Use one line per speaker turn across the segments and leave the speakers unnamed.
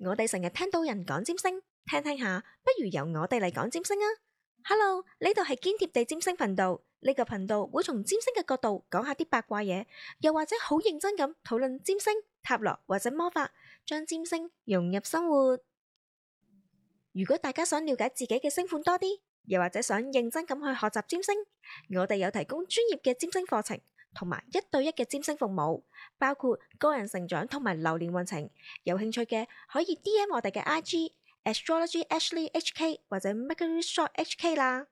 我哋成日聽到人講占星，聽聽下，不如由我哋嚟講占星啊！Hello，呢度係堅貼地占星頻道，呢個頻道會從占星嘅角度講下啲八卦嘢，又或者好認真咁討論占星、塔羅或者魔法，將占星融入生活。如果大家想了解自己嘅星盤多啲，又或者想認真咁去學習占星，我哋有提供專業嘅占星課程，同埋1對1嘅占星服務，包括個人成長同埋流年運程。有興趣嘅可以 DM 我哋嘅 IG Astrology Ashley HK 或者 Mercury Shop HK 啦。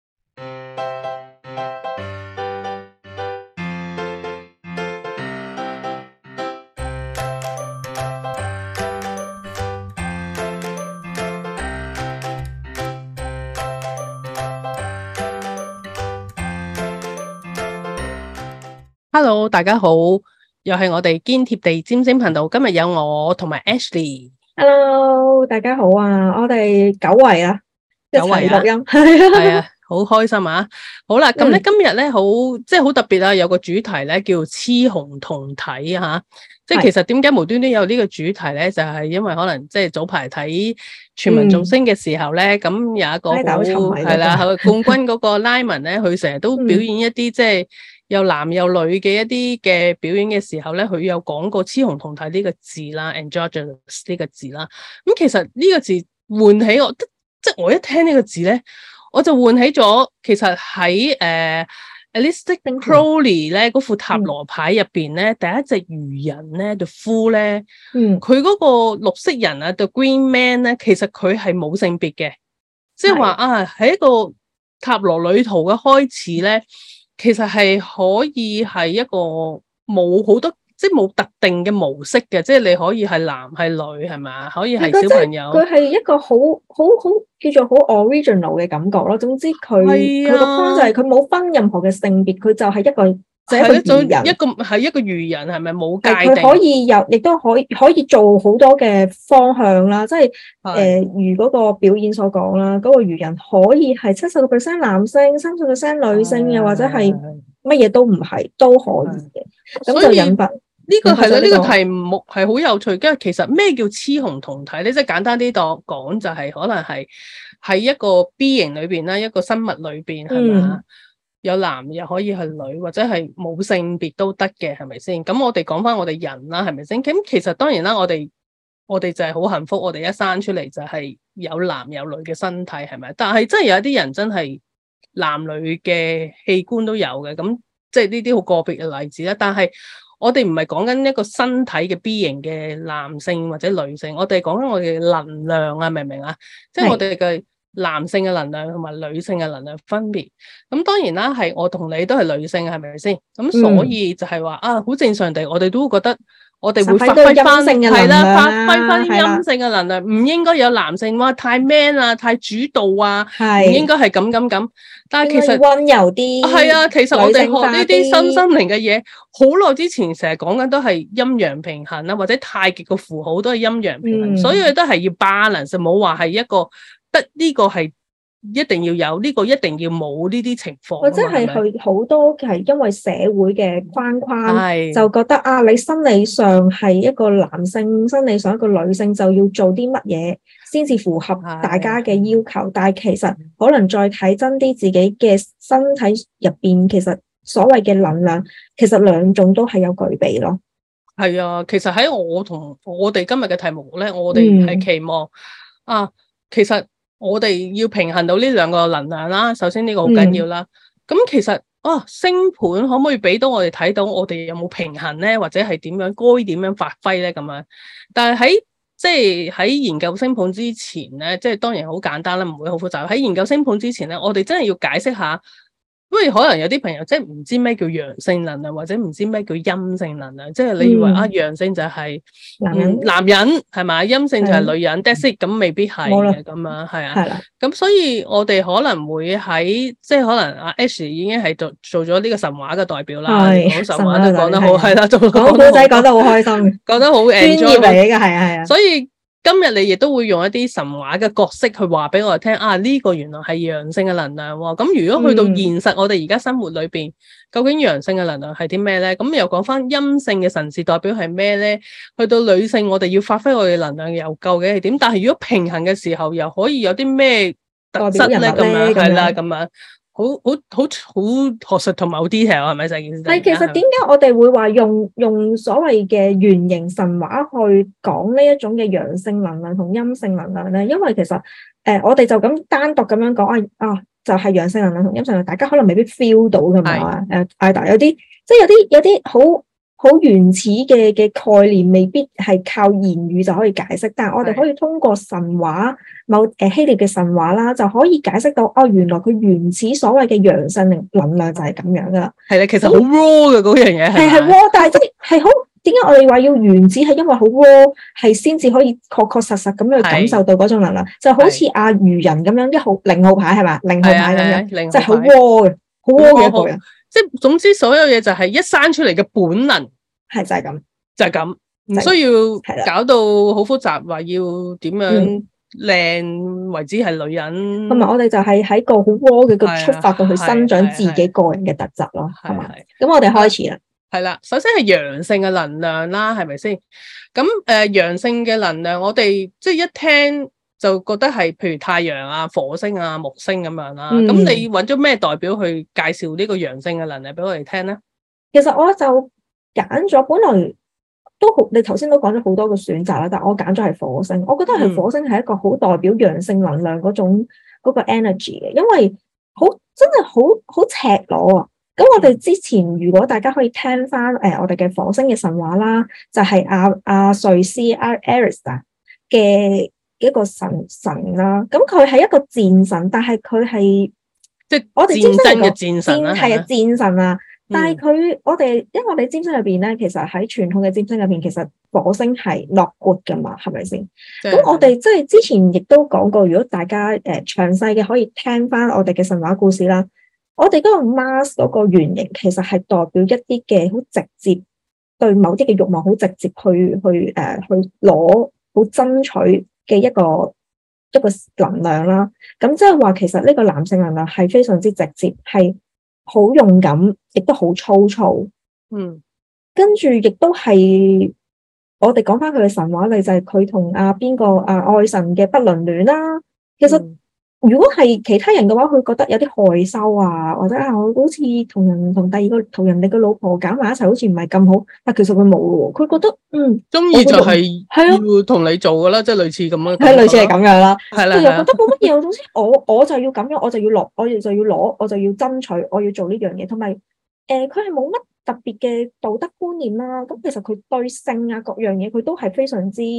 Hello， 大家好，又係我哋堅貼地占星頻道。今日有我同埋 Ashley。Hello，
大家好啊！我哋久違啦，一齊錄音
係啊，好開心啊！好啦，咁咧今日咧好特別啊，有個主題咧叫雌雄同體啊吓。即係其實點解無端端有呢個主題咧？就係因為可能即係早排睇全民造星嘅時候咧，咁有一個係啦，冠軍嗰個 Lyman 咧，佢成日都表演一啲即係有男有女嘅一啲嘅表演嘅時候咧，佢有講過雌雄同體呢個字啦 androgynous 呢個字啦。咁其實呢個字喚起我，即係我一聽呢個字咧，我就喚起咗其實喺Aleister Crowley 咧嗰副塔羅牌入邊咧，第一隻魚人咧 The Fool 咧，佢嗰個綠色人啊 The Green Man 咧，其實佢係冇性別嘅，即係話啊喺一個塔羅旅途嘅開始咧。其實係可以係一個冇好多，即係冇特定嘅模式嘅，即係你可以係男係女係咪？可以係小朋友。
佢係一個好叫做好 original 嘅感覺咯。總之佢個 point 就係佢冇分任何嘅性別，佢就係一個魚人，
一個魚人係咪冇界定？
佢可以有，亦都可以做好多嘅方向啦。即係如嗰個表演所講啦，嗰個魚人可以係70% 男性，30% 女性，又或者係乜嘢都唔係，都可以嘅。咁就引發
呢個係啦，呢個題目係好有趣。因為其實咩叫雌雄同體咧？即係簡單啲講，就係可能係喺一個 B 型裏邊啦，一個生物裏邊係嘛？有男又可以係女，或者係冇性別都得嘅，係咪先？咁我哋講翻我哋人啦，係咪先？咁其實當然啦，我哋就係好幸福，我哋一生出嚟就係有男有女嘅身體，係咪？但係真係有一啲人真係男女嘅器官都有嘅，咁即係呢啲好個別嘅例子啦。但係我哋唔係講緊一個身體嘅 B 型嘅男性或者女性，我哋講緊我哋嘅能量啊，明唔明啊？即係我哋嘅男性嘅能量同埋女性嘅能量分別，咁當然啦，係我同你都係女性，係咪先？咁所以就係話啊，好正常地，我哋都會覺得我哋會發揮翻係啦，發揮翻啲陰性嘅能量，唔應該有男性哇太 man 啊，太主導啊，唔應該係咁。但係其實
溫柔啲
係啊，其實我哋學呢啲身心靈嘅嘢，好耐之前成日講緊都係陰陽平衡啦，或者太極嘅符號都係陰陽平衡，所以都係要 balance，冇話係一個。得呢個係一定要有，呢個一定要冇呢啲情況，
或者係佢好多係因為社會嘅框框，就覺得啊，你生理上係一個男性，生理上一個女性就要做啲乜嘢先至符合大家嘅要求，但係其實可能再睇真啲自己嘅身體入邊，其實所謂嘅能量，其實兩種都係有具備咯。
係啊，其實喺我同我哋今日嘅題目咧，我哋係期望啊，其實。我哋要平衡到呢兩個能量啦，首先呢個好緊要啦。咁其實星盤可唔可以俾到我哋睇到我哋有冇平衡咧，或者係點樣該點樣發揮咧咁樣？但係喺研究星盤之前咧，即係當然好簡單啦，唔會好複雜。喺研究星盤之前咧，我哋真係要解釋下。因為可能有啲朋友即係唔知咩叫陽性能量，或者唔知咩叫陰性能量，即係你以為陽性就係男人係咪？陰性就係女人 that's it， 咁未必係嘅咁樣係啊。咁所以我哋可能會喺即係可能阿 Ash 已經係做咗呢個神話嘅代表啦，講神話都講得好係啦，講古仔講得好開心，講得好專業嚟嘅係啊。所以今日你亦都會用一啲神話嘅角色去話俾我哋聽啊，呢個原來係陽性嘅能量喎。咁如果去到現實，我哋而家生活裏邊，究竟陽性嘅能量係啲咩咧？咁又講翻陰性嘅神士代表係咩咧？去到女性，我哋要發揮我哋能量又究竟係點？但係如果平衡嘅時候，又可以有啲咩特質咧？咁樣係啦，咁樣。好學術同埋好 detail 係咪成件事？
係，其實點解我哋會話用所謂嘅原型神話去講呢一種嘅陽性能量同陰性能量咧？因為其實我哋就咁單獨咁樣講就係陽性能量同陰性能量，大家可能未必 feel 到㗎嘛。Ida 有啲即係有啲好原始嘅概念，未必係靠言語就可以解釋，但係我哋可以通過神話希臘嘅神話啦，就可以解釋到原來佢原始所謂嘅陽性能量就係咁樣噶啦。
係啦，其實好 raw 嘅嗰樣嘢
係 raw， 但係即係好點解我哋話要原始係因為好 raw 係先至可以確實實咁樣去感受到嗰種能量，就好似阿魚人咁樣0號牌係嘛，0號牌咁樣，即係好 raw 嘅，好 raw 嘅一個人。
即係總之所有嘢就係一生出嚟嘅本能，
係就係咁，
就係咁，唔需要搞到好複雜，話要點樣靚為之係女人。同埋
我哋就係喺個好 raw 嘅個出發度去生長自己個人嘅特質咯，係嘛？咁我哋開始啦。
係啦，首先係陽性嘅能量啦，係咪先？咁陽性嘅能量，我哋即係一聽就覺得係譬如太陽啊、火星啊、木星咁樣啦。咁你揾咗咩代表去介紹呢個陽性嘅能量俾我哋聽咧？
其實我就揀咗，本來都好，你頭先都講咗好多個選擇啦，但我揀咗係火星。我覺得係火星係一個好代表陽性能量嗰種嗰個 energy 嘅，因為真係好赤裸啊！咁我哋之前如果大家可以聽翻我哋嘅火星嘅神話啦，就係阿瑞斯 Ares 嘅一個神啦。咁佢係一個戰神，但係佢係
即係
我哋
戰爭嘅戰神啦，
係戰神啊！但係因為我哋占星入邊咧，其實喺傳統嘅占星入邊，其實火星係 not good 噶嘛，係咪先？咁我哋即係之前亦都講過，如果大家詳細嘅可以聽翻我哋嘅神話故事啦。我哋嗰個 Mars 嗰個原型，其實係代表一啲嘅好直接對某啲嘅慾望，好直接去攞好爭取嘅一個能量啦。咁即係話，其實呢個男性能量係非常之直接，係好勇敢，亦都好粗糙。跟住亦都係我哋講翻佢嘅神話例，就係佢同邊個愛神嘅不倫戀啦。其實如果係其他人嘅話，佢覺得有啲害羞啊，或者我好似同人哋嘅老婆搞埋一齊，好似唔係咁好。但其實佢冇喎，佢覺得
中意就係要同你做噶啦，即係類似咁樣。
係類似係咁樣啦，
係啦。
佢又覺得冇乜嘢，總之我就要咁樣，我就要攞，我就要爭取，我要做呢樣嘢。同埋佢係冇乜特別嘅道德觀念啦。咁其實佢對性啊各樣嘢，佢都係非常之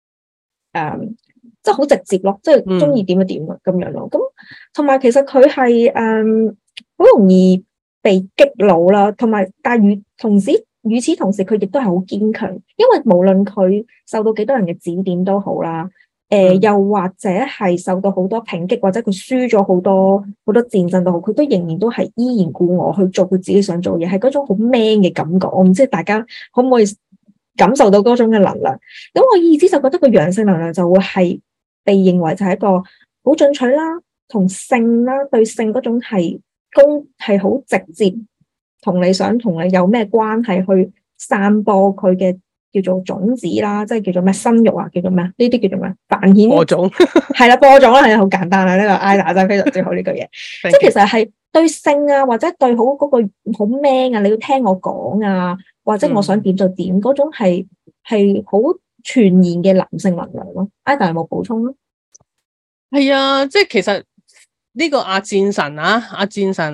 即係好直接咯，即係中意點就點啊咁樣咯。咁同埋其實佢係好容易被激怒啦，但係與此同時，佢亦都係好堅強，因為無論佢受到幾多人嘅指點都好啦，又或者係受到好多抨擊，或者佢輸咗好多戰爭都好，佢都仍然都係依然故我去做佢自己想做嘢，係嗰種好 man 嘅感覺。我唔知大家可唔可以感受到嗰種嘅能量。咁我意思就覺得個陽性能量就會係被認為就係一個好進取啦，同性啦，對性嗰種係好直接，同你有咩關係去散播佢嘅叫做種子啦，即係叫做咩生育啊，叫做咩呢啲叫做咩繁衍
播種
係啦，播種啦，係好簡單啦，呢個 Ida 真係非常之好呢句嘢，即係其實係對性啊，或者對好嗰個好 man 啊，你要聽我講啊，或者我想點就點嗰種係好全然嘅男性能量咯。Ida 有冇補充咧？
係啊，即係其實呢個戰神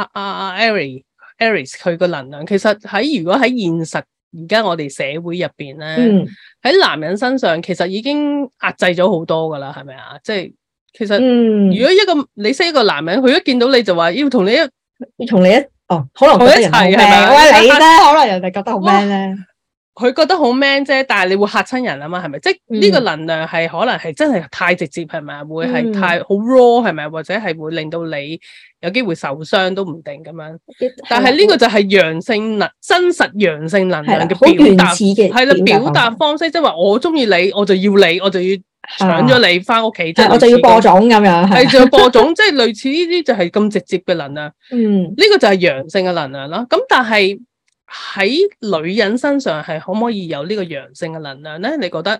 Ares 佢個能量，其實如果喺現實而家我哋社會入邊咧，喺男人身上其實已經壓制咗好多噶啦，係咪啊？即係其實如果你識一個男人，佢一見到你就話要同你可能覺得人好 man，喂你咧，可能人哋覺得好 man 咧。 佢覺得好 man 啫，但係你會嚇親人啊嘛，係咪？即係呢個能量係可能係真係太直接，係咪？會係太好 raw 係咪？或者係會令到你有機會受傷都唔定咁樣。但係呢個就係陽性真實陽性能量嘅表達，係啦，表達方式，即係話我中意你，我就要你，我就要搶咗你翻屋企，即係
我就要播種咁樣，
係就要播種，即係類似呢啲就係咁直接嘅能量。呢個就係陽性嘅能量啦。咁但係喺女人身上係可唔可以有呢個陽性嘅能量咧？你覺得？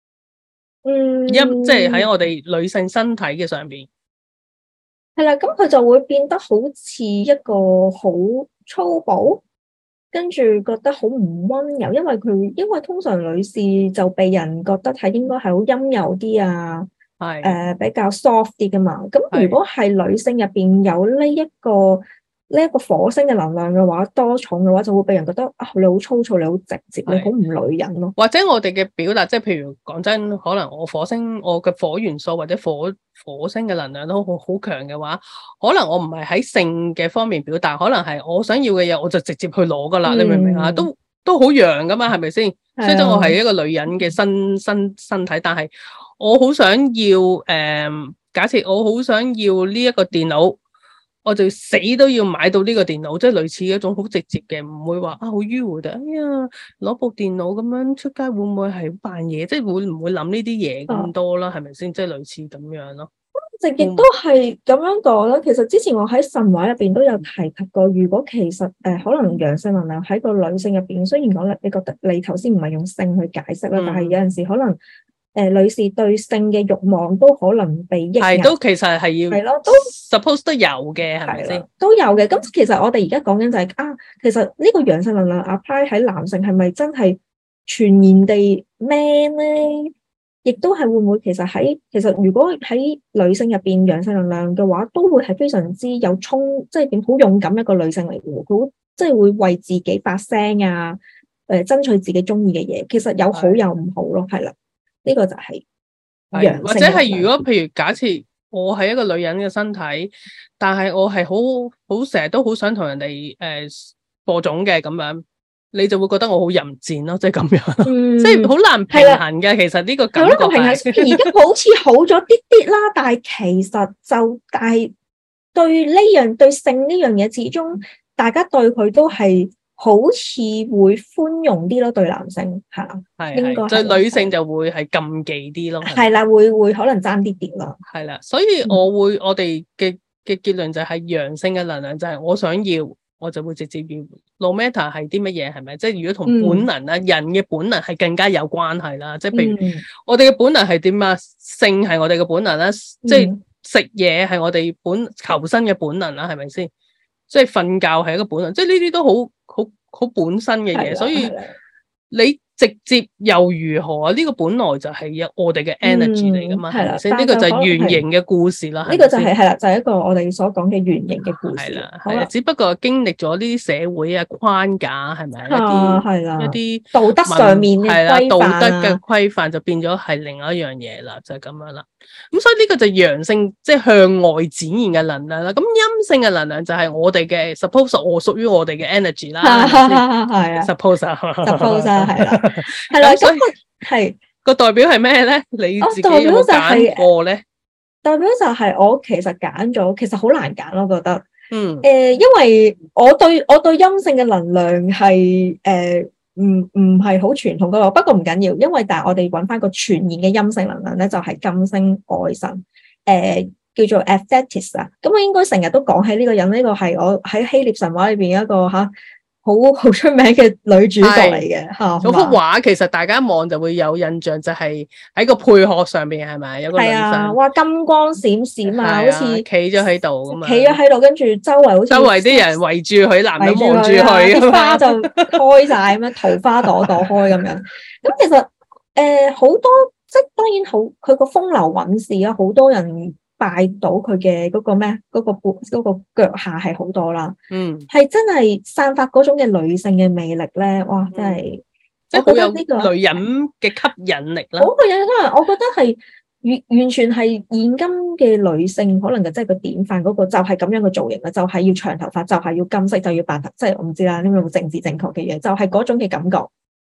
即係喺我哋女性身體嘅上邊，
係啦，咁佢就會變得好似一個好粗暴，跟住覺得好唔溫柔，因為通常女士就被人覺得係應該係好陰柔啲啊，比較 soft 啲噶嘛。咁如果係女性入邊有呢一個火星嘅能量嘅話，多重嘅話，就會俾人覺得你好粗糙，你好直接，你好唔女人咯。或
者我哋嘅表達，即係譬如講真，可能我嘅火元素或者火星嘅能量都好強嘅話，可能我唔係喺性嘅方面表達，可能係我想要嘅嘢，我就直接去攞噶啦。你明唔明啊？都好陽噶嘛，係咪先？雖則我係一個女人嘅身體，但係我好想要假設我好想要呢一個電腦。我就死都要買到呢個電腦，即係類似一種好直接嘅，唔會話好迂迴嘅。哎呀，攞部電腦咁樣出街會唔會係扮嘢？即係會唔會諗呢啲嘢咁多啦？係咪先？即係類似咁樣咯。
直亦都係咁樣講啦。其實之前我喺神話入邊都有提及過，如果其實可能陽性能量喺個女性入邊，雖然講你覺得你頭先唔係用性去解釋啦，但係有陣時可能。女士對性嘅慾望都可能被抑壓，
都其實係要係咯，都 suppose 都有嘅，係咪先？
都有嘅。咁其實我哋而家講緊就係其實呢個陽性能量 apply 喺男性係咪真係全然地 man 咧？亦都係會唔會其實如果喺女性入邊陽性能量嘅話，都會係非常之有即係點好勇敢一個女性嚟嘅，佢即係會為自己發聲啊，爭取自己中意嘅嘢。其實有好有唔好咯，係啦。呢個就係陽性，或者係
如果譬如假設我係一個女人嘅身體，但係我係好成日都好想同人哋播種嘅咁樣，你就會覺得我好淫賤咯，即係咁樣，即係好難平衡嘅。其實呢個感覺係
而家好似好咗啲啲啦，但係其實但係對性呢樣嘢，始終大家對佢都係。好似會寬容啲咯，對男性係應該
對女性就會係禁忌啲咯，
係啦，會可能爭啲咯，
係啦，所以我哋嘅結論就係陽性嘅能量就係我想要，我就會直接要 ，no matter 係啲乜嘢，係咪？即係如果同本能啦，人嘅本能係更加有關係啦，即係譬如我哋嘅本能係點啊？性係我哋嘅本能啦，即係食嘢係我哋求生嘅本能啦，係咪先？即係瞓覺係一個本能，即係呢啲都好本身嘅嘢，所以你直接又如何啊？呢個本來就係我哋嘅 energy 嚟噶嘛，係咪先？呢個就係圓形嘅故事啦。
呢個就係啦，就係一個我哋所講嘅圓形嘅故事。
係啦，只不過經歷咗呢啲社會啊框架，係咪一啲
道德上面嘅規範，
道德嘅規範就變咗係另外一樣嘢啦，就係咁樣啦。咁所以呢個就係陽性，即係向外展現嘅能量啦。咁陰性嘅能量就係我哋嘅 suppose 我屬於我哋嘅 energy 啦。
係啊
suppose
係啦，係啦。咁係
個代表係咩咧？你自己有冇揀過咧？
代表就係我其實揀咗，其實好難揀咯，覺得。因為我對陰性嘅能量係唔係好傳統嗰個，不過唔緊要，因為但係我哋揾翻個全然嘅陰性能量咧，就係金星愛神，叫做 Aphetis 啊。咁我應該成日都講起呢個人，呢個係我喺希臘神話裏邊一個好出名嘅女主角嚟嘅吓。
嗰幅畫其實大家一望就會有印象，就係喺個配殼上邊係咪有個女生？
哇，金光閃閃啊，好似
企咗喺度咁啊！
企咗喺度，跟住周圍啲
人圍住佢，男人望住佢，
啲花就開晒咁樣，桃花朵朵開咁樣。咁其實好多，即係當然好，佢個風流韻事啊，好多人拜到佢嘅嗰個咩，嗰個腳下係好多啦。係真係散發嗰種嘅女性嘅魅力咧，哇！真係，
即係好有呢個女人嘅吸引力啦。
好個人，我覺得係完全係現今嘅女性，可能就即係個典範嗰個，就係咁樣嘅造型啦，就係要長頭髮，就係要金色，就要扮，即係我唔知啦，呢個政治正確嘅嘢，就係嗰種嘅感覺。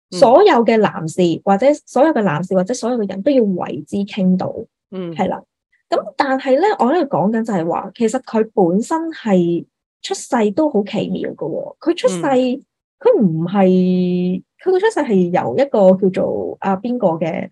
所有嘅男士或者所有嘅人都要為之傾倒，係啦。咁但係咧，我喺度講緊就係話，其實佢本身係出世都好奇妙嘅喎。佢出世，佢唔係佢個出世係由一個叫做邊個嘅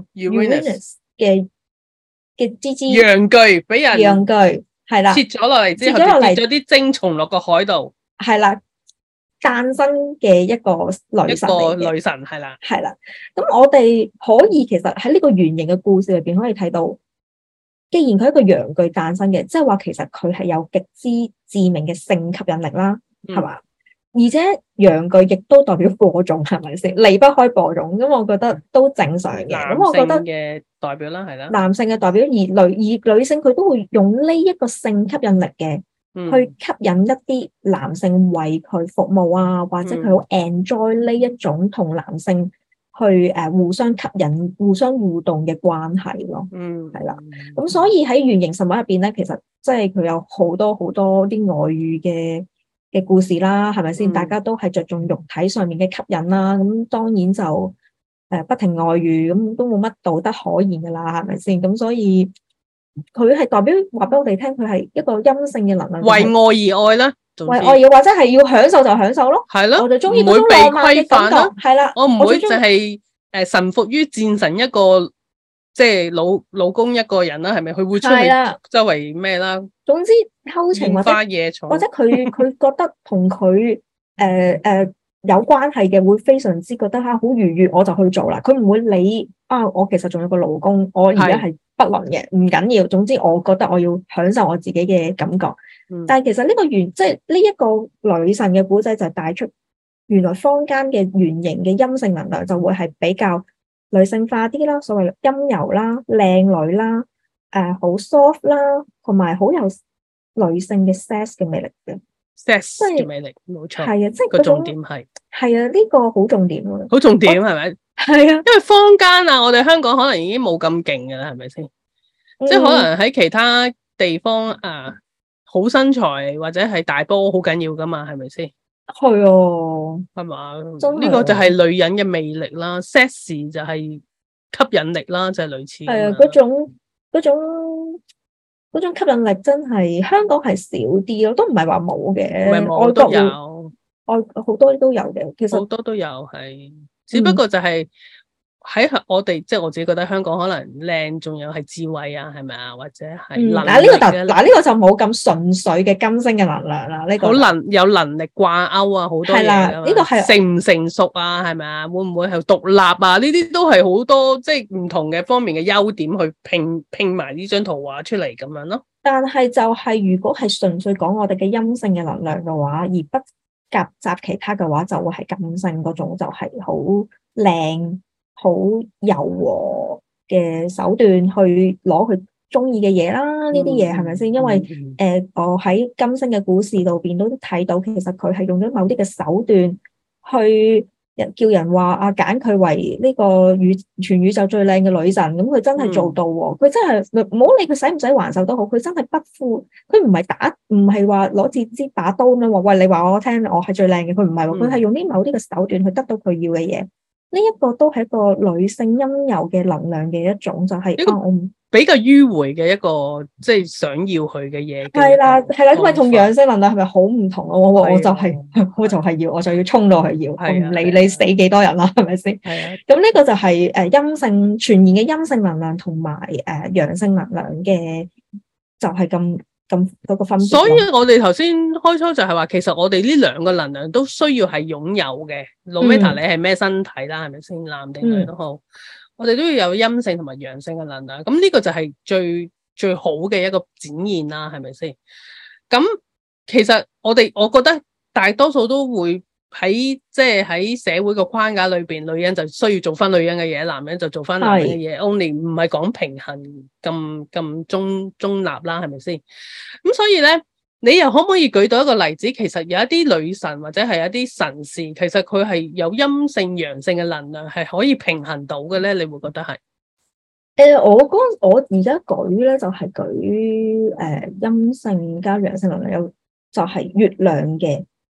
Uranus 嘅芝芝
陽具俾人
陽具係啦，
切咗落嚟之後，跌咗啲精蟲落個海度，
係啦，誕生嘅一個女神
係啦，
係啦。咁我哋可以其實喺呢個圓形嘅故事裏邊可以睇到。既然佢係一個陽具誕生嘅，即係話其實佢係有極之致命嘅性吸引力啦，係嘛？而且陽具亦都代表播種，係咪先？離不開播種，咁我覺得都正常嘅。咁我覺得
嘅代表啦，係啦，
男性嘅代表，而女性佢都會用呢一個性吸引力嘅，去吸引一啲男性為佢服務啊，或者佢好 enjoy 呢一種同男性。去互相吸引、互相互動嘅關係咯，係啦。咁所以喺圓形神話入邊咧，其實即係佢有好多啲外遇嘅故事啦，係咪先？大家都係着重肉體上面嘅吸引啦，咁當然就不停外遇，咁都冇乜道德可言噶啦，係咪先？咁所以佢係代表話俾我哋聽，佢係一個陰性嘅能量，
為愛而愛啦。
為愛要或者係要享受就享受咯，
係咯，
我就中意嗰種浪漫嘅感覺，係啦，
我唔會就係臣服於戰神一個，即係老公一個人啦，係咪？佢會出去周圍咩啦？
總之偷情或者佢覺得同佢有關係嘅，會非常之覺得好愉悅，我就去做啦。佢唔會理我其實仲有個老公，我而家係不倫嘅，唔緊要。總之我覺得我要享受我自己嘅感覺。但係其實呢個即係呢一個女神嘅古仔就帶出，原來坊間嘅圓形嘅陰性能量就會係比較女性化啲啦，所謂陰柔啦、靚女啦、好 soft 啦，同埋好有女性嘅 sex 嘅魅力嘅
sex 嘅魅力，冇錯。
係啊，即係
個重點係
呢個好重點啊，
好重點係咪？
係啊，
因為坊間我哋香港可能已經冇咁勁噶啦，係咪先？即係可能喺其他地方好身材或者係大波好緊要噶嘛，係咪先？
係啊，
係嘛？呢個就係女人嘅魅力啦 ，sex 就係吸引力啦，就係類似。
係啊，嗰種吸引力真係香港係少啲咯，都唔係話冇嘅，
外國有，
好多都有嘅，其實
好多都有係，只不過就係。喺我哋即係我自己覺得香港可能靚，仲有係智慧啊，係咪啊？或者係能力
呢個就冇咁純粹嘅金星嘅能量啦。呢個
好有能力掛鈎啊，好多嘢。係啦，
呢個係
成唔成熟啊？係咪啊？會唔會係獨立啊？呢啲都係好多即係唔同嘅方面嘅優點去拼埋呢張圖畫出嚟咁樣咯。
但係就係如果係純粹講我哋嘅陰性嘅能量嘅話，而不夾雜其他嘅話，就會係金星嗰種就係好靚。好柔和嘅手段去攞佢中意嘅嘢啦，呢啲嘢係咪先？因為我喺金星嘅故事度邊都睇到，其實佢係用咗某啲嘅手段去叫人話揀佢為呢個全宇宙最靚嘅女神，咁佢真係做到喎！佢真係唔好理佢使唔使還手都好，佢真係不負，佢唔係話攞支把刀咁樣話，喂，你話我聽，我係最靚嘅，佢唔係喎，佢係用某啲嘅手段去得到佢要嘅嘢。呢一個都係一個女性陰柔嘅能量嘅一種，就係我
比較迂迴嘅一個，即係想要佢嘅嘢。
係啦，因為同陽性能量係咪好唔同啊？我就係要，我就要衝到去要，我唔理你死幾多人啦，係咪先？係啊。咁呢個就係陰性全然嘅陰性能量同埋陽性能量嘅，就係咁嗰個分別。
所以我哋頭先開初就係話，其實我哋呢兩個能量都需要係擁有嘅。no matter 你係咩身體啦，係咪先？男定女都好，我哋都要有陰性同埋陽性嘅能量。咁呢個就係最好嘅一個展現啦，係咪先？咁其實我覺得大多數都會喺社會個框架裏邊，女人就需要做翻女人嘅嘢，男人就做翻男人嘅嘢。only 唔係講平衡咁中立啦，係咪先？咁所以咧，你又可唔可以舉到一個例子？其實有一啲女神或者係一啲神士，其實佢係有陰性陽性嘅能量，係可以平衡到嘅咧？你會覺得係？
我而家舉咧就係舉陰性加陽性能量，有就係月亮嘅。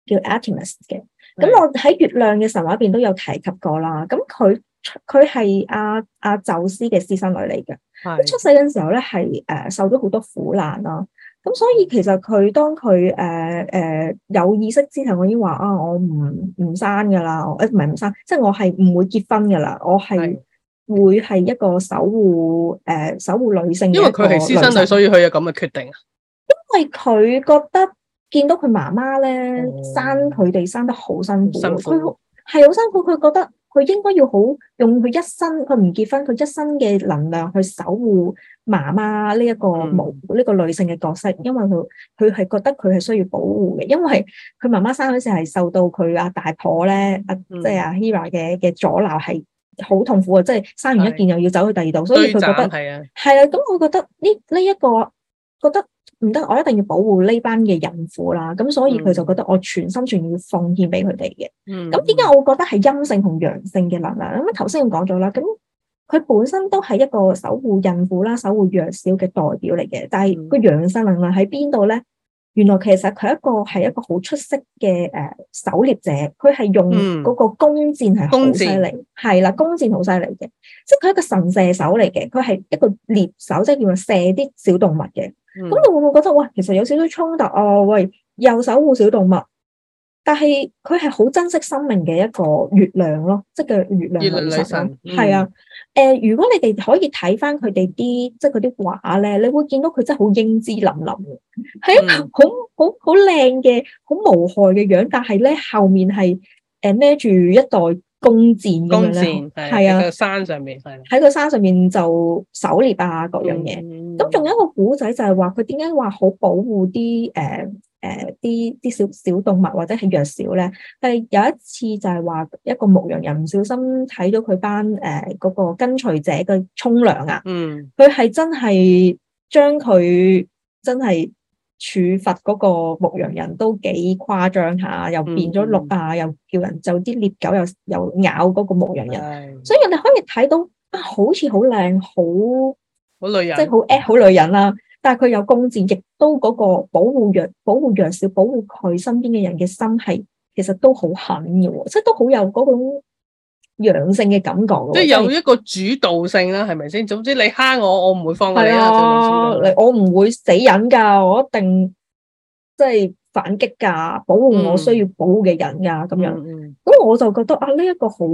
叫 Artemis 嘅。咁我喺月亮嘅神話入邊都有提及過啦。咁佢係阿宙斯嘅私生女嚟嘅。咁出世嘅時候咧係受咗好多苦難啦。咁所以其實佢當佢有意識之後，我已經話啊，我唔生噶啦，唔係唔生，即係我係唔會結婚噶啦，我係會係一個守護女性嘅。
因為佢係私生女，所以佢有咁嘅決定啊。
因為佢覺得見到佢媽媽咧生佢哋生得好辛苦，佢係好辛苦，佢覺得佢應該要好用佢一生，佢唔結婚，佢一生嘅能量去守護媽媽呢一個呢個女性嘅角色，因為佢係覺得佢係需要保護嘅，因為佢媽媽生嗰時係受到佢阿大婆咧，即係阿 Hera 嘅阻撓係好痛苦啊！即係生完一件又要走去第二度，所以佢覺得係啊，咁我覺得呢一個覺得唔得，我一定要保護呢班嘅孕婦啦，咁所以佢就覺得我全心全意要奉獻俾佢哋嘅。咁點解我會覺得係陰性同陽性嘅能量？咁頭先咁講咗啦，咁佢本身都係一個守護孕婦啦、守護弱小嘅代表嚟嘅，但係個陽性能量喺邊度咧？原來其實佢係一個好出色嘅狩獵者，佢係用嗰個弓箭係好犀利，係啦，弓箭好犀利嘅，即係佢係一個神射手嚟嘅，佢係一個獵手，即係叫做射啲小動物嘅。咁你會唔會覺得哇，其實有少少衝突啊？喂，又守護小動物，但係佢係好珍惜生命嘅一個月亮咯，即係嘅月亮女神。係啊，如果你哋可以睇翻佢哋啲即係嗰啲畫咧，你會見到佢真係好英姿凛凛嘅，係一個好靚嘅、好無害嘅樣，但係咧後面係孭住一袋弓箭咁樣咧，係啊，喺個山上面喺個山上面就狩獵啊各樣嘢。咁仲有一個古仔就係話佢點解話好保護啲啲小動物或者係弱小咧？係有一次就係話一個牧羊人唔小心睇到佢班嗰個跟隨者嘅沖涼啊，佢係真係將佢真係處罰嗰個牧羊人都幾誇張下，又變咗鹿啊，又叫人就啲獵狗又咬嗰個牧羊人，所以你可以睇到啊，好似好靚，好女人，即係好女人啦。但係佢有弓箭，亦都嗰個保護弱小、保護佢身邊嘅人嘅心係，其實都好狠嘅，即係都好有嗰種陽性嘅感覺。
即係有一個主導性啦，係咪先？總之你蝦我，我唔會放過你啦。
我唔會死忍噶，我一定即係反擊噶，保護我需要保護嘅人噶，咁樣。咁我就覺得啊，呢一個好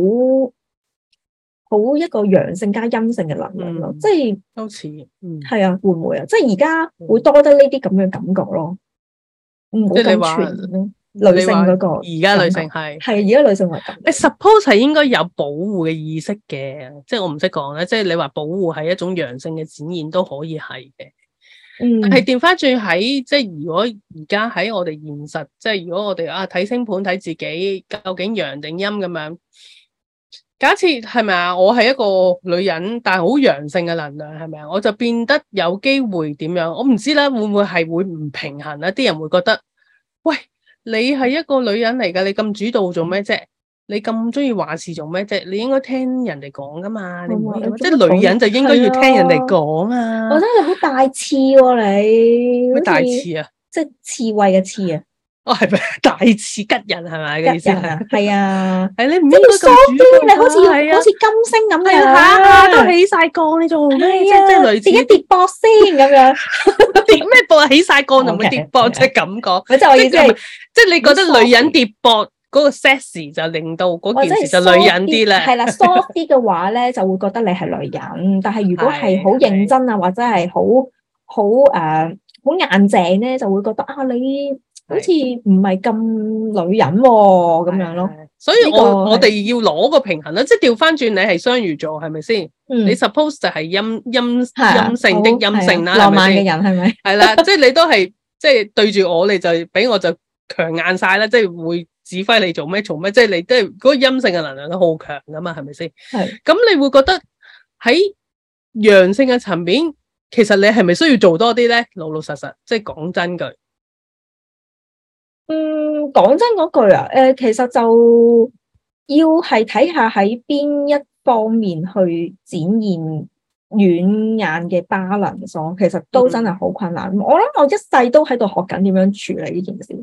一個陽性加陰性嘅能量咯，即係
都似，
係啊，會唔會啊？即係而家會多得呢啲咁嘅感覺咯，唔好咁全咯。女性嗰個，
而家女性係
而家女性係咁。
你 suppose 係應該有保護嘅意識嘅，即係我唔識講咧。即係你話保護係一種陽性嘅展現都可以係嘅。但係調翻轉喺即係如果而家喺我哋現實，即係如果我哋睇星盤睇自己究竟陽定陰咁樣。假設係咪啊？我係一個女人，但係好陽性嘅能量，係咪啊？我就變得有機會點樣？我唔知啦，會唔會係會唔平衡啊？啲人會覺得，喂，你係一個女人嚟㗎，你咁主導做咩啫？你咁中意話事做咩啫？你應該聽人哋講㗎嘛，你唔可以即係女人就應該要聽人哋講啊！
我覺得你好大刺喎，你
咩大刺啊？
即係刺猬嘅刺啊！
哦，係咪大刺吉人係咪嘅意思啊？
係啊，
係你唔應該咁主動，
你好似金星咁樣，
下都起晒槓，你做咩？即係類似
自己跌膊先咁樣，
跌咩膊？起晒槓就唔會跌膊，即係咁講。
即係我意思係，
即係你覺得女人跌膊嗰個 sexy 就令到嗰件事就女人啲咧。
係啦，soft 啲嘅話咧，就會覺得你係女人。但係如果係好認真啊，或者係好硬淨咧，就會覺得啊你。好似唔係咁女人咁樣咯，
所以我哋要攞個平衡啦，即係調翻轉你係雙魚座係咪先？你 suppose 就係陰性的陰性啦，
浪漫嘅人係咪？
係啦，即係你都係即係對住我，你就俾我就強硬晒啦，即係會指揮你做咩，即係你都係嗰個陰性嘅能量都好強噶嘛，係咪先？係咁你會覺得喺陽性嘅層面，其實你係咪需要做多啲咧？老老實實，即係講真句。
講真嗰句啊，其實就要係睇下喺邊一方面去展現軟硬嘅 balance，其實都真係好困難。我諗我一世都喺度學緊點樣處理呢件事。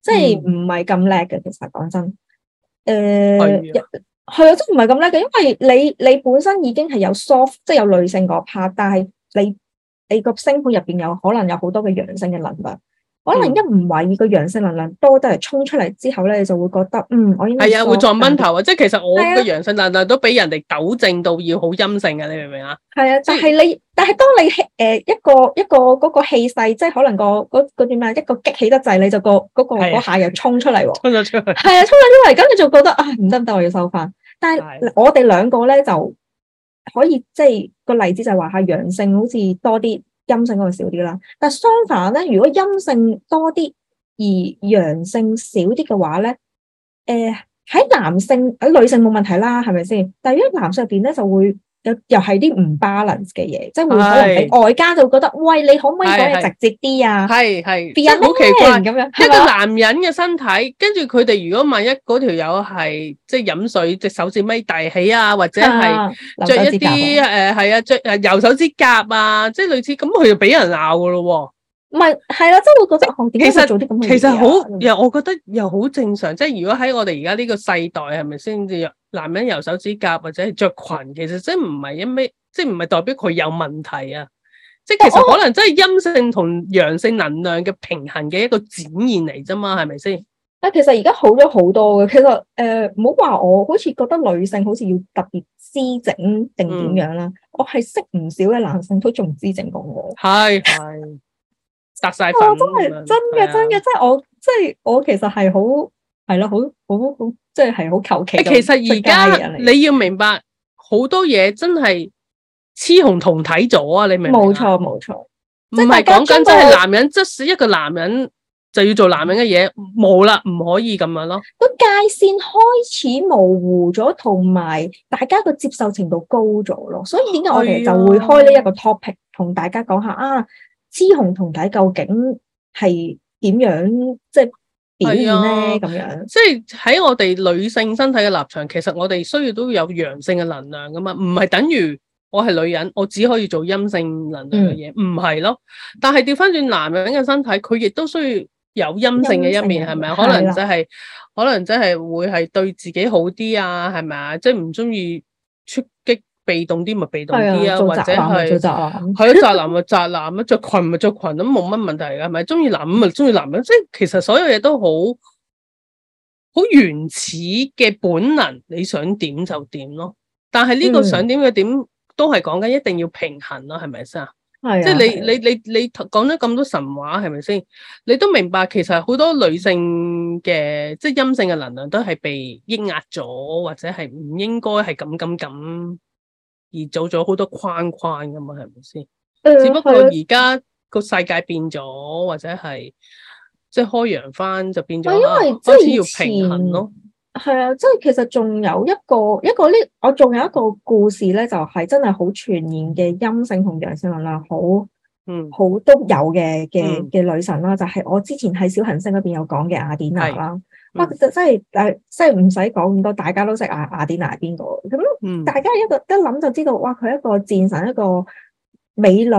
即係唔係咁叻嘅。其實講真，
係
係啊，真唔係咁叻嘅，因為你本身已經係有 soft，即係有女性嗰 part，但係你個星盤入邊有可能有好多嘅陽性嘅能量。可能一唔懷疑個陽性能量多得嚟衝出嚟之後咧，你就會覺得我應該
係啊，會撞崩頭啊！即係其實我嘅陽性能量都俾人哋糾正到要好陰性嘅，你明唔明啊？係啊，
但係當你一個嗰個氣勢，即係可能嗰點啊，一個激起得滯，你就嗰下又衝出嚟喎，
衝咗出去，
係啊，衝咗出嚟，咁你就覺得唔得，我要收翻。但係我哋兩個咧就可以即係個例子就係話係陽性好似多啲。陰性嗰個少啲啦，但係相反咧，如果陰性多啲而陽性少啲嘅話咧，喺男性喺女性冇問題啦，係咪先？但係如果男性入邊咧就會又係啲唔 balance 嘅嘢，即係會可能俾外家就覺得，喂，你可唔可以講嘢直接啲啊？
係，即係好奇怪
咁樣。
一個男人嘅身體，跟住佢哋如果萬一嗰條友係即係飲水隻手指尾大起啊，或者係着一啲係啊着右手指甲啊，即係類似咁，佢就俾人鬧噶咯喎。
唔係啦，即係會覺得點解做啲咁嘅嘢？
其實好又我覺得又好正常，即係如果喺我哋而家呢個世代係咪先至男人油手指甲或者係着裙，其實真唔係因咩，即係唔係代表佢有問題啊？即係其實可能真係陰性同陽性能量嘅平衡嘅一個展現嚟啫嘛，係咪先？
其實而家好咗好多嘅。其實唔好話我好似覺得女性好似要特別姿整定點樣啦，我係識唔少嘅男性都仲姿整過我。係。
搭晒粉，
真嘅，即係我其實係好係咯，好即係好求其。
其實而家你要明白好多嘢真係雌雄同體咗啊！你明唔明？
冇錯，
唔係講緊真係男人，即使一個男人就要做男人嘅嘢，冇啦，唔可以咁樣咯。
個界線開始模糊咗，同埋大家個接受程度高咗咯。所以點解我哋就會開呢一個 topic 同大家講下啊？雌雄同體究竟係點樣即係表現咧？咁樣
即係喺我哋女性身體嘅立場，其實我哋需要都有陽性嘅能量噶嘛，唔係等於我係女人，我只可以做陰性能量嘅嘢，唔係咯。但係調翻轉男人嘅身體，佢亦都需要有陰性嘅一面，係咪？可能真係會係對自己好啲啊，係咪啊？即係唔中意出擊。被動啲咪被動啲啊，或者係宅男咪宅男啊，着裙咪着裙咁冇乜問題嘅，係咪？中意男咪中意男人，即係其實所有嘢都好原始嘅本能，你想點就點咯。但係呢個想點嘅點都係講緊一定要平衡咯，係咪先啊？即係你講咗咁多神話，係咪先？你都明白其實好多女性嘅即係陰性嘅能量都係被抑壓咗，或者係唔應該係咁。而做咗好多框噶嘛，係咪先？只不過而家個世界變咗，或者係即係開揚翻就變咗，
因為
開始要平衡咯。
係啊，即係其實仲有一個呢，我仲有一個故事咧，就係真係好全然嘅陰性同陽性能量好都有嘅女神啦，就係我之前喺小行星嗰邊有講嘅雅典娜啦。哇！其實真係唔使講咁多，大家都識雅典娜係邊個咁。大家一諗就知道，哇！佢係一個戰神，一個美女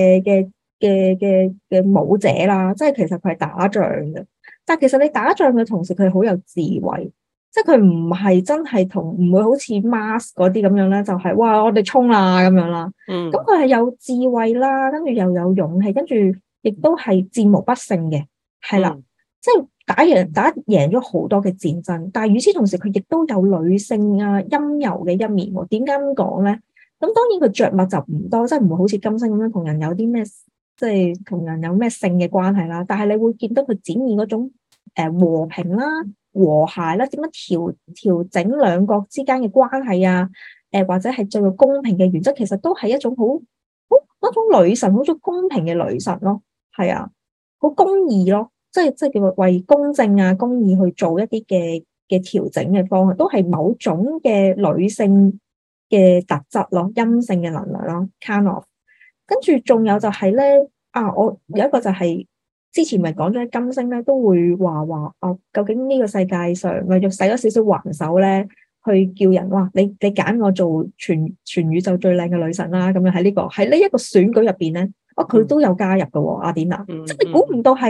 嘅舞者啦。即係其實佢係打仗嘅，但係其實你打仗嘅同時，佢好有智慧。即係佢唔係真係唔會好似 Mars 嗰啲咁樣咧，就係哇！我哋衝啦咁樣啦。咁佢係有智慧啦，跟住又有勇氣，跟住亦都係戰無不勝嘅，係啦，即係。打贏咗好多嘅戰爭，但係與此同時，佢亦都有女性啊陰柔嘅一面喎。點解咁講咧？咁當然佢着物就唔多，即係唔會好似金星咁樣同人有啲咩，即係同人有咩性嘅關係啦。但係你會見到佢展現嗰種和平啦、和諧啦，點樣調整兩國之間嘅關係啊？或者係最後公平嘅原則，其實都係一種一種女神，好種公平嘅女神咯。係啊，好公義咯。即係叫為公正啊、公義去做一啲嘅調整嘅方向，都係某種嘅女性嘅特質咯，陰性嘅能量咯 kind of。跟住仲有就係咧我有一個就係之前咪講咗金星咧，都會話究竟呢個世界上咪要使咗少少橫手咧，去叫人哇你揀我做全宇宙最靚嘅女神啦，咁樣喺呢一個選舉入邊咧，佢都有加入嘅喎，雅典娜，即係你估唔到係。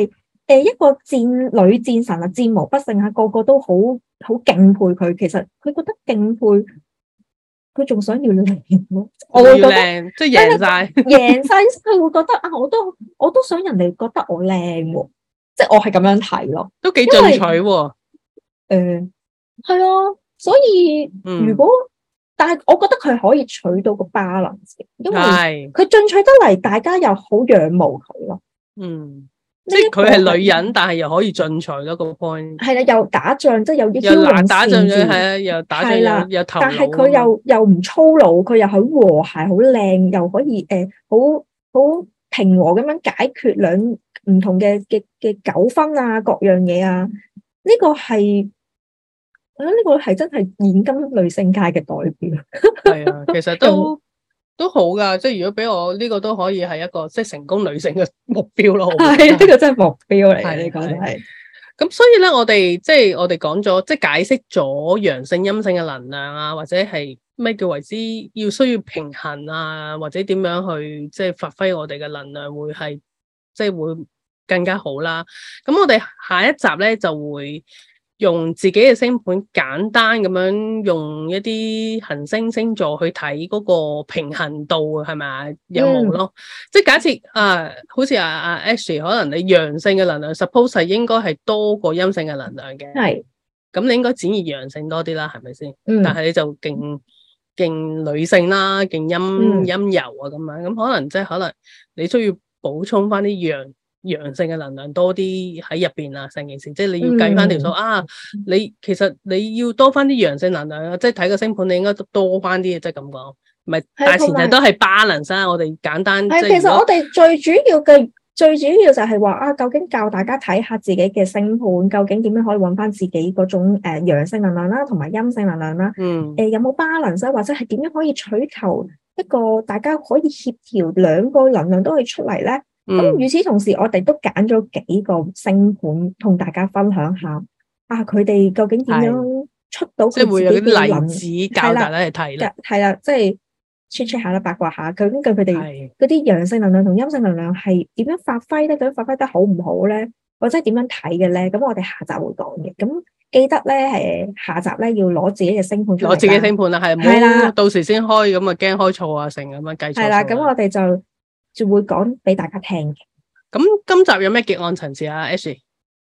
一個女戰神啊，戰無不勝啊，個個都好敬佩佢。其實佢覺得敬佩，佢仲想要靚咯。我會覺得
即係贏晒，
贏晒，佢會覺得啊，我都想人哋覺得我靚喎，即係我係咁樣睇咯，
都幾進取喎。
係啊，所以如果但係我覺得佢可以取到個 balance，因為佢進取得嚟，大家又好仰慕佢咯。
即係佢係女人，但係又可以進取咯。個 point
係啦，又打仗，即係又
又打仗咗，係啊，又打仗又頭腦。
但係佢又唔粗魯，佢又好和諧，好靚，又可以好平和咁樣解決兩唔同嘅糾紛啊，各樣嘢啊。呢個係。我覺得呢個係真係現今女性界嘅代表。
係啊，其實都好噶，即係如果俾我呢個都可以係一個即係成功女性嘅目標咯。
係呢個真係目標嚟嘅，呢個係。
咁所以咧，我哋講咗，即係解釋咗陽性陰性嘅能量啊，或者係咩叫為之需要平衡啊，或者點樣去即係發揮我哋嘅能量會係即係會更加好啦。咁我哋下一集咧就會用自己嘅星盤簡單咁樣用一啲行星星座去睇嗰個平衡度係咪有冇咯？即係假設好似阿 Ashley 可能你陽性嘅能量 suppose 係應該係多過陰性嘅能量嘅，係咁你應該展現陽性多啲啦，係咪先？但係你就勁女性啦，勁陰柔啊咁樣，咁可能即係可能你需要補充翻啲陽性嘅能量多啲喺入邊啊，成件事即係你要計翻條數你其實你要多翻啲陽性能量啊，即係睇個星盤你應該多翻啲，即係咁講，唔係大前提都係 balance 啦。我哋簡單
其實我哋最主要就係話究竟教大家睇下自己嘅星盤，究竟點樣可以揾翻自己嗰種陽性能量啦，同埋陰性能量啦。有冇 balance，或者係點樣可以取求一個大家可以協調兩個能量都可以出嚟咧？咁與此同時，我哋都揀咗幾個星盤同大家分享下，佢哋究竟點樣出到佢自己嘅能量？即係會有啲例子教大家去睇啦。係啦，即係 check 下啦，八卦下，究竟佢哋嗰啲陽性能量同陰性能量係點樣發揮咧？究竟發揮得好唔好咧？或者點樣睇嘅咧？咁我哋下集會講嘅。咁記得咧，下集咧要攞自己嘅星盤出嚟。攞自己星盤啦，係啦，到時先開咁啊，驚開錯啊，成咁樣計錯。係啦，咁我哋就會講俾大家聽嘅。咁今集有咩結案陳詞啊 Ashley？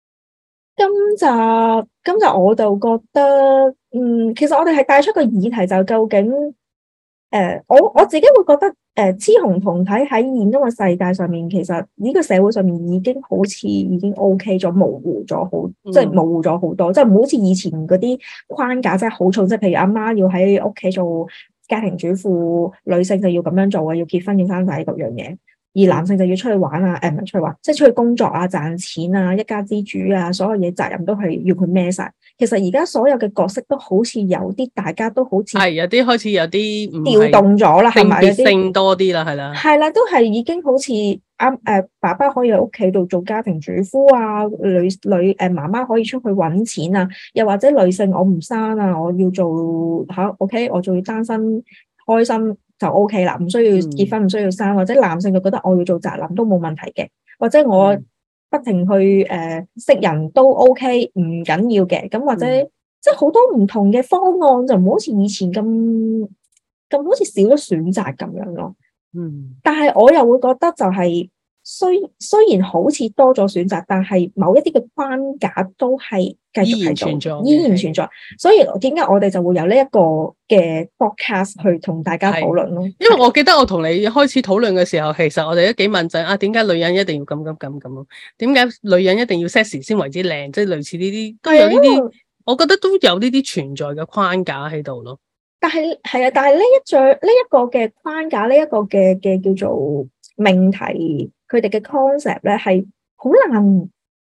今集我就覺得，其實我哋係帶出個議題，就究竟，我自己會覺得，雌雄同體喺現今嘅世界上面，其實呢個社會上面已經好似已經 OK 咗，模糊咗好，即係模糊咗好多，即係唔好似以前嗰啲框架真係好重，即係譬如阿媽要喺屋企做家庭主婦，女性就要咁樣做啊，要結婚要生仔各樣嘢。而男性就要出去玩啊，唔係出去玩，即係出去工作啊，賺錢啊，一家之主啊，所有嘢責任都係要佢孭晒。其實而家所有嘅角色都好似有啲，大家都好似係有啲開始有啲調動咗啦，係咪？性別性多啲啦，係啦，係啦，都係已經好似爸爸可以喺屋企度做家庭主婦啊，媽媽可以出去揾錢啊，又或者女性我唔生啊，我要做OK，我仲要單身開心。就 OK 啦，唔需要結婚，唔需要生，或者男性就覺得我要做宅男都冇問題嘅，或者我不停去識人都 OK， 唔緊要嘅，咁或者即係好多唔同嘅方案，就唔好似以前咁好似少咗選擇咁樣咯。但係我又會覺得就係雖然好似多咗選擇，但係某一啲嘅框架都係繼續喺度，依然存在。所以點解我哋就會有呢一個嘅 podcast 去同大家討論咯？因為我記得我同你開始討論嘅時候，其實我哋都幾問陣點解女人一定要咁？點解女人一定要 sexy 先為之靚？即係類似呢啲都有呢啲，我覺得都有呢啲存在嘅框架喺度咯。但係呢一個嘅框架，呢一個嘅叫做命題。佢哋嘅 concept 咧係好難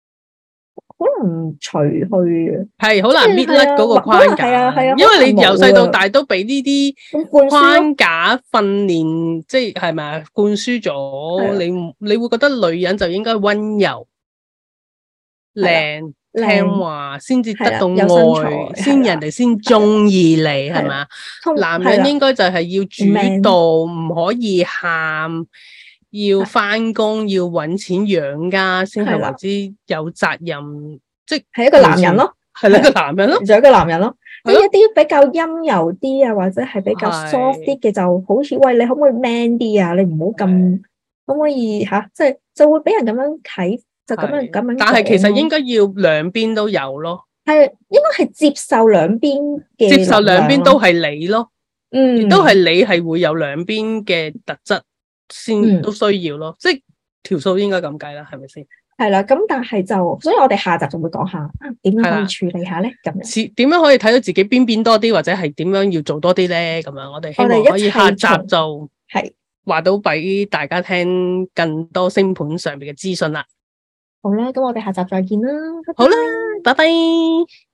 除去嘅，係好難搣甩嗰個框架。係啊，因為你由細到大都俾呢啲框架訓練，即係咪啊？灌輸咗你會覺得女人就應該溫柔、靚、聽話，先至得到愛，先人哋先中意你，係咪啊？男人應該就係要主動，唔可以喊。
要翻工，要搵錢養家，先係為之有責任，即
係一個男人咯，
係一個男人咯，
就一個男人咯。即係一啲比較陰柔啲啊，或者係比較 soft 啲嘅，就好似喂，你可唔可以 man 啲啊？你唔好咁，可唔可以吓？即係就會俾人咁樣睇，就咁樣。
但係其實應該要兩邊都有咯，
係應該係接受兩邊嘅，
接受兩邊都係你咯，亦都係你係會有兩邊嘅特質先都需要咯，即係條數應該咁計啦，係咪先？
係啦，咁但係就，所以我哋下集就會講下點樣可以處理下咧，咁樣
點樣可以睇到自己邊多啲，或者係點樣要做多啲咧？咁樣我哋希望可以下集就係話到俾大家聽更多星盤上面嘅資訊啦。
好啦，咁我哋下集再見啦，
好啦，拜拜。